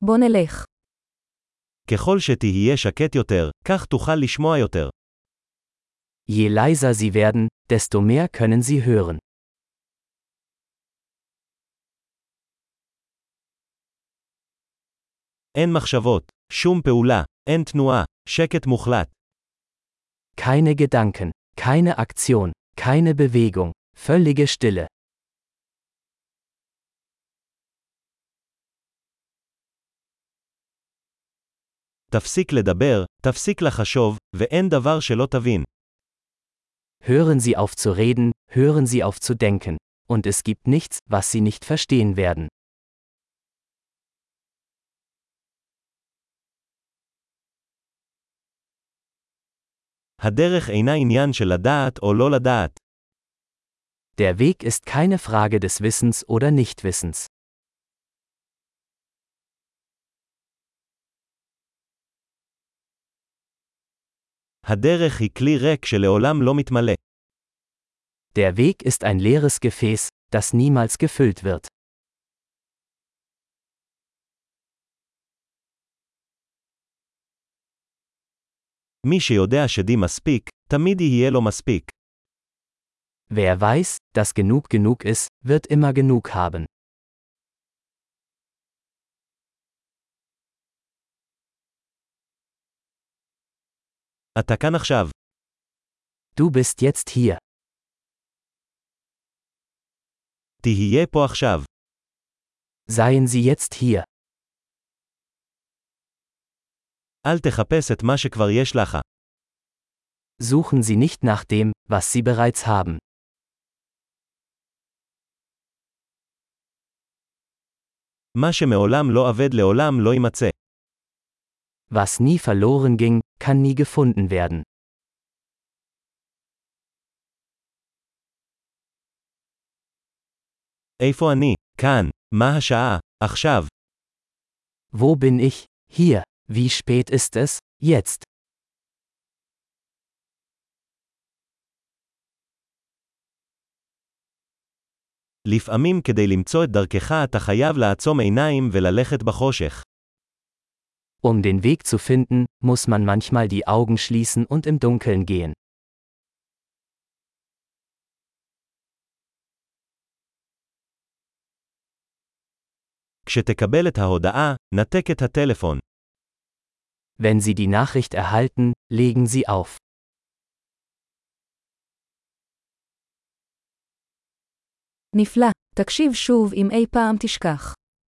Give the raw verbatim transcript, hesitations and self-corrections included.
בוא נלך. ככל שתהיה שקט יותר, כך תוכל לשמוע יותר. Je leiser sie werden, desto mehr können sie hören. אין מחשבות, שום פעולה, אין תנועה, שקט מוחלט. Keine Gedanken, keine Aktion, keine Bewegung, völlige Stille. תפסיק לדבר, תפסיק לחשוב, ואין דבר שלא תבין. Hören Sie auf zu reden, hören Sie auf zu denken. Und es gibt nichts, was Sie nicht verstehen werden. הדרך אינה עניין של לדעת או לא לדעת. Der Weg ist keine Frage des Wissens oder Nichtwissens. הדרך היא כלי ריק שלעולם לא מתמלא. Der Weg ist ein leeres Gefäß, das niemals gefüllt wird. מי שיודע שדי מספיק, תמיד יהיה לו מספיק. Wer weiß, dass genug genug ist, wird immer genug haben. אתה כאן עכשיו. Du bist jetzt hier. תהיה פה עכשיו. Seien Sie jetzt hier. אל תחפש את מה שכבר יש לך. Suchen Sie nicht nach dem, was Sie bereits haben. מה שמעולם לא אבד לעולם לא יימצא. Was nie verloren ging, kann nie gefunden werden. איפה אני? כאן. מה השעה? עכשיו. Wo bin ich? Hier. Wie spät ist es? Jetzt. לפעמים כדי למצוא את דרכך אתה חייב לעצום עיניים וללכת בחושך. Um den Weg zu finden, muss man manchmal die Augen schließen und im Dunkeln gehen. כשתקבל את ההודעה, נתק את הטלפון. Wenn Sie die Nachricht erhalten, legen Sie auf. נפלא. תקשיב שוב אם אי פעם תשכח.